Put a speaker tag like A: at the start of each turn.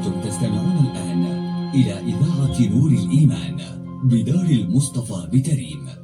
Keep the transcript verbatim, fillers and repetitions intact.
A: أنتم تستمعون الآن إلى إذاعة نور الإيمان بدار المصطفى بتريم.